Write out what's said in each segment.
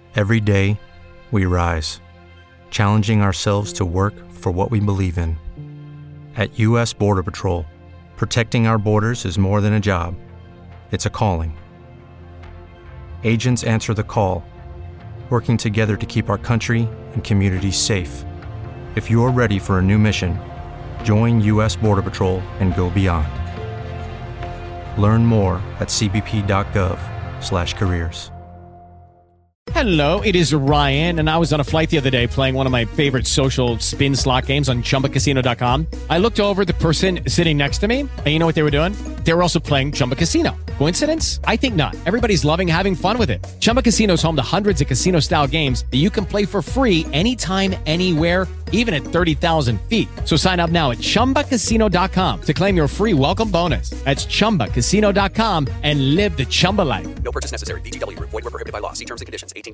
Every day, we rise, challenging ourselves to work for what we believe in. At U.S. Border Patrol, protecting our borders is more than a job. It's a calling. Agents answer the call, working together to keep our country and communities safe. If you're ready for a new mission, join U.S. Border Patrol and go beyond. Learn more at cbp.gov/careers. Hello, it is Ryan, and I was on a flight the other day playing one of my favorite social spin slot games on ChumbaCasino.com. I looked over at the person sitting next to me, and you know what they were doing? They were also playing Chumba Casino. Coincidence? I think not. Everybody's loving having fun with it. Chumba Casino is home to hundreds of casino-style games that you can play for free anytime, anywhere, even at 30,000 feet. So sign up now at ChumbaCasino.com to claim your free welcome bonus. That's ChumbaCasino.com and live the Chumba life. No purchase necessary. VGW. Void where prohibited by law. See terms and conditions. 18+.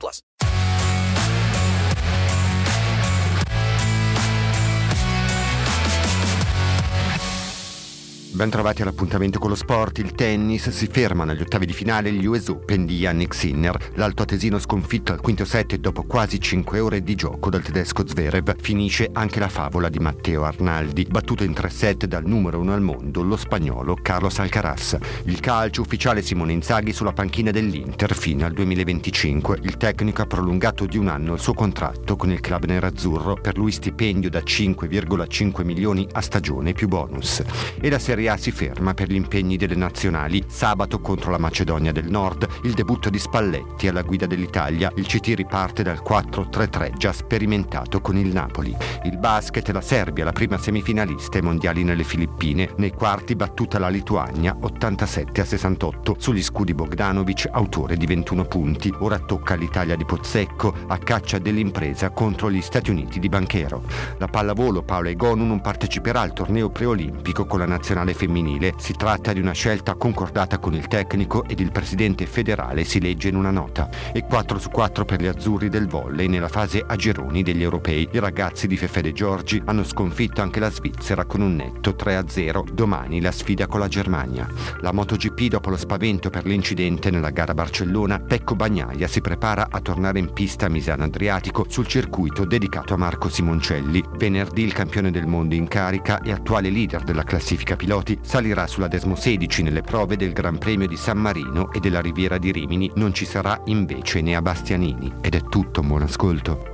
Ben trovati all'appuntamento con lo sport. Il tennis si fermano agli ottavi di finale gli US Open di Jannik Sinner. L'altoatesino sconfitto al quinto set dopo quasi 5 ore di gioco dal tedesco Zverev. Finisce anche la favola di Matteo Arnaldi, battuto in 3 set dal numero 1 al mondo, lo spagnolo Carlos Alcaraz. Il calcio ufficiale Simone Inzaghi sulla panchina dell'Inter fino al 2025. Il tecnico ha prolungato di 1 anno il suo contratto con il club nerazzurro, per lui stipendio da 5,5 milioni a stagione più bonus. E la Serie A si ferma per gli impegni delle nazionali. Sabato contro la Macedonia del Nord, il debutto di Spalletti alla guida dell'Italia. Il CT riparte dal 4-3-3 già sperimentato con il Napoli. Il basket, la Serbia, la prima semifinalista ai mondiali nelle Filippine. Nei quarti battuta la Lituania 87-68 sugli scudi Bogdanovic, autore di 21 punti. Ora tocca all'Italia di Pozzecco a caccia dell'impresa contro gli Stati Uniti di Banchero. La pallavolo, Paola Egonu non parteciperà al torneo preolimpico con la nazionale femminile. Si tratta di una scelta concordata con il tecnico ed il presidente federale, si legge in una nota. E 4-4 per gli azzurri del volley nella fase a gironi degli europei. I ragazzi di Fefè De Giorgi hanno sconfitto anche la Svizzera con un netto 3-0. Domani la sfida con la Germania. La MotoGP, dopo lo spavento per l'incidente nella gara a Barcellona, Pecco Bagnaia si prepara a tornare in pista a Misano Adriatico sul circuito dedicato a Marco Simoncelli. Venerdì il campione del mondo in carica e attuale leader della classifica piloti salirà sulla Desmo 16 nelle prove del Gran Premio di San Marino e della Riviera di Rimini. Non ci sarà invece Nea Bastianini. Ed è tutto, buon ascolto.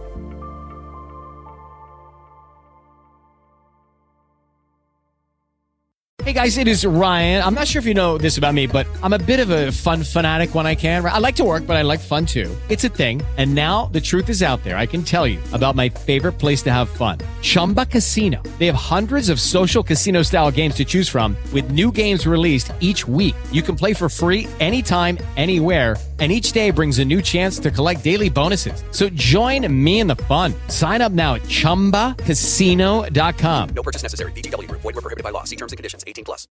Hey guys, it is Ryan. I'm not sure if you know this about me, but I'm a bit of a fun fanatic when I can. I like to work, but I like fun too. It's a thing. And now the truth is out there. I can tell you about my favorite place to have fun. Chumba Casino. They have hundreds of social casino style games to choose from with new games released each week. You can play for free anytime, anywhere. And each day brings a new chance to collect daily bonuses. So join me in the fun. Sign up now at ChumbaCasino.com. No purchase necessary. VGW. Void where prohibited by law. See terms and conditions. 18+.